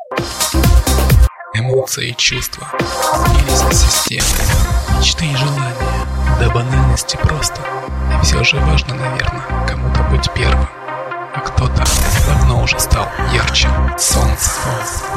Эмоции и чувства сбились в систему, мечты и желания, до банальности просто. И все же важно, наверное, кому-то быть первым, а кто-то давно уже стал ярче солнца.